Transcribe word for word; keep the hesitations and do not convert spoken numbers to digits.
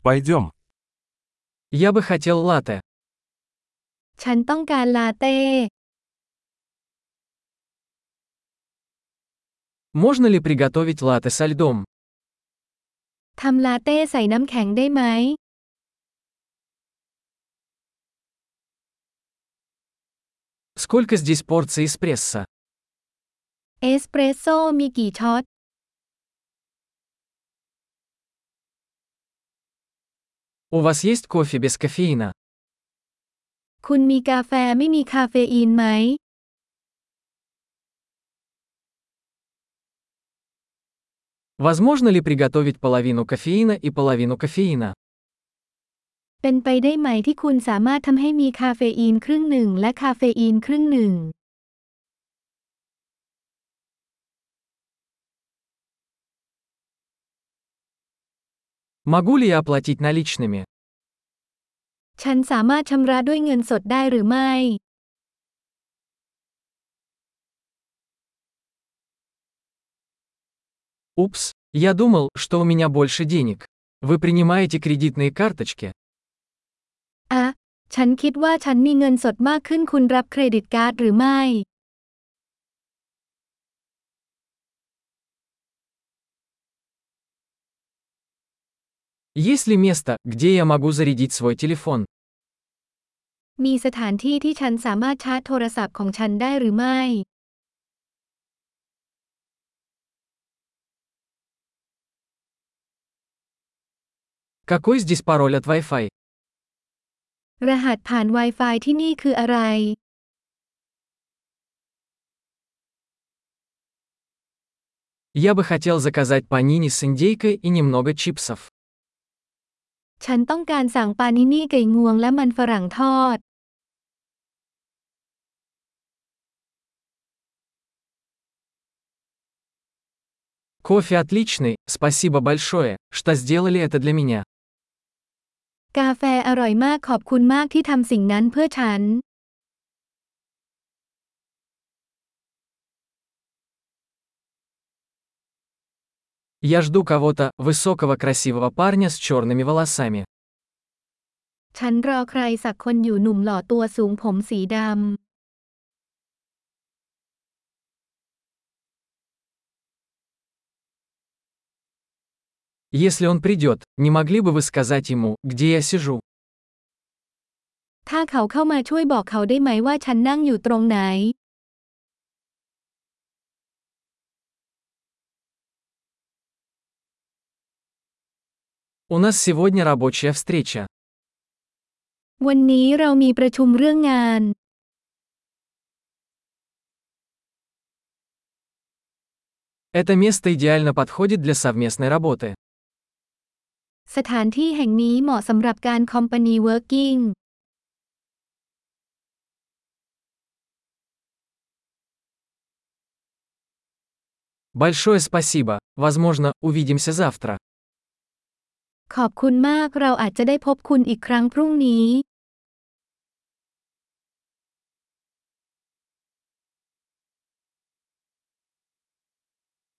Пойдем. Я бы хотел латте. ฉันต้องการลาเต้ Можно ли приготовить латте со льдом? ทำลาเต้ใส่น้ำแข็งได้ไหม Сколько здесь порций эспрессо? เอสเปรสโซ่มีกี่ช็อต У вас есть кофе без кофеина? คุณมีกาแฟไม่มีคาเฟอีนไหม Возможно ли приготовить половину кофеина и половину кофеина? เป็นไปได้ไหมที่คุณสามารถทำให้มีคาเฟอีนครึ่งหนึ่งและคาเฟอีนครึ่งหนึ่ง Могу ли я оплатить наличными? ฉันสามารถชำระด้วยเงินสดได้หรือไม่ Упс, я думал, что у меня больше денег. Вы принимаете кредитные карточки? อะฉันคิดว่าฉันมีเงินสดมากขึ้นคุณรับเครดิตการ์ดหรือไม่ Есть ли место, где я могу зарядить свой телефон? มีสถานที่ที่ฉันสามารถชาร์จโทรศัพท์ของฉันได้หรือไม่ Какой здесь пароль от Wi-Fi? รหัสผ่าน Wi-Fi ที่นี่คืออะไร Я бы хотел заказать панини с индейкой и немного чипсов. ฉันต้องการสั่งปานินี่ไก่งวงและมันฝรั่งทอด Кофе отличный, спасибо большое, что сделали это для меня. กาแฟอร่อยมากขอบคุณมากที่ทำสิ่งนั้นเพื่อฉัน Я жду кого-то, высокого красивого парня с черными волосами. ฉันรอใครสักคนอยู่หนุ่มหล่อตัวสูงผมสีดำ Если он придет, не могли бы вы сказать ему, где я сижу? ถ้าเขาเข้ามาช่วยบอกเขาได้ไหมว่าฉันนั่งอยู่ตรงไหน У нас сегодня рабочая встреча. วันนี้เรามีประชุมเรื่องงาน Это место идеально подходит для совместной работы. สถานที่แห่งนี้เหมาะสำหรับการคอมพานีเวิร์กิ้ง Большое спасибо, возможно, увидимся завтра. ขอบคุณมากเราอาจจะได้พบคุณอีกครั้งพรุ่งนี้